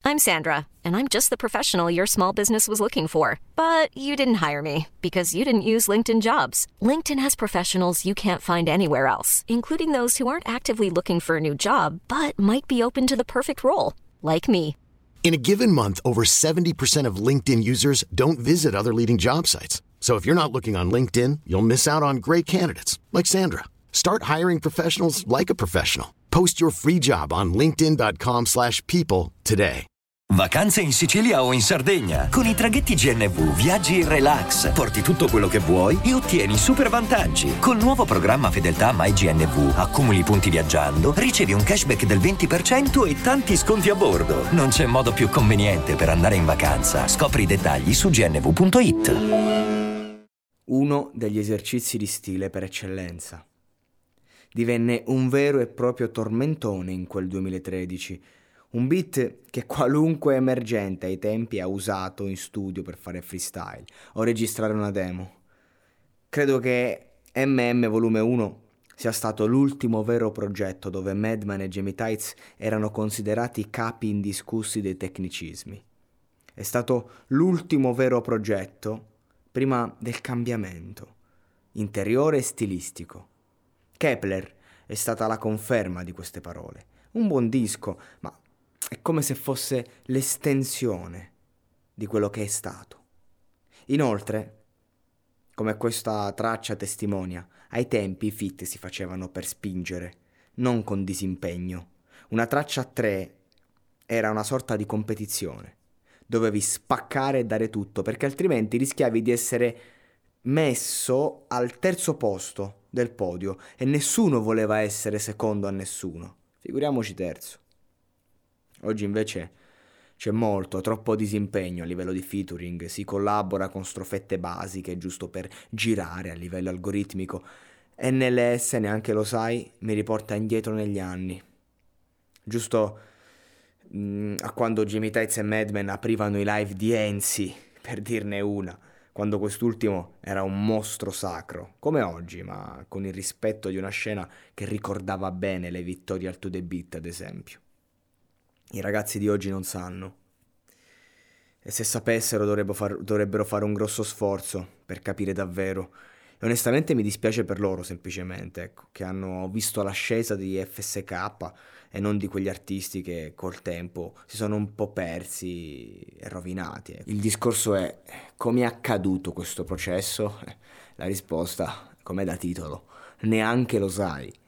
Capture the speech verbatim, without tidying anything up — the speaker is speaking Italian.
I'm Sandra, and I'm just the professional your small business was looking for. But you didn't hire me because you didn't use LinkedIn Jobs. LinkedIn has professionals you can't find anywhere else, including those who aren't actively looking for a new job, but might be open to the perfect role, like me. In a given month, over seventy percent of LinkedIn users don't visit other leading job sites. So if you're not looking on LinkedIn, you'll miss out on great candidates like Sandra. Start hiring professionals like a professional. Post your free job on linkedin.com slash people today. Vacanze in Sicilia o in Sardegna. Con i traghetti G N V viaggi in relax, porti tutto quello che vuoi e ottieni super vantaggi. Col nuovo programma Fedeltà MyGNV accumuli punti viaggiando, ricevi un cashback del venti per cento e tanti sconti a bordo. Non c'è modo più conveniente per andare in vacanza. Scopri i dettagli su g n v punto i t. Uno degli esercizi di stile per eccellenza. Divenne un vero e proprio tormentone in quel duemilatredici. Un beat che qualunque emergente ai tempi ha usato in studio per fare freestyle o registrare una demo. Credo che M M Volume uno sia stato l'ultimo vero progetto dove Madman e Jamie Tights erano considerati capi indiscussi dei tecnicismi. È stato l'ultimo vero progetto prima del cambiamento, interiore e stilistico. Kepler è stata la conferma di queste parole. Un buon disco, ma è come se fosse l'estensione di quello che è stato. Inoltre, come questa traccia testimonia, ai tempi i feat si facevano per spingere, non con disimpegno. Una traccia a tre era una sorta di competizione. Dovevi spaccare e dare tutto, perché altrimenti rischiavi di essere messo al terzo posto del podio e nessuno voleva essere secondo a nessuno. Figuriamoci terzo. Oggi invece c'è molto, troppo disimpegno a livello di featuring, si collabora con strofette basiche giusto per girare a livello algoritmico e N L S, neanche lo sai, mi riporta indietro negli anni. Giusto mh, a quando Jamie Tights e Madman aprivano i live di Enzi, per dirne una, quando quest'ultimo era un mostro sacro, come oggi, ma con il rispetto di una scena che ricordava bene le vittorie al To The Beat, ad esempio. I ragazzi di oggi non sanno. E se sapessero dovrebbero, far, dovrebbero fare un grosso sforzo per capire davvero. E onestamente mi dispiace per loro, semplicemente, ecco, che hanno visto l'ascesa di F S K e non di quegli artisti che col tempo si sono un po' persi e rovinati. Ecco. Il discorso è: come è accaduto questo processo? La risposta, come da titolo, neanche lo sai.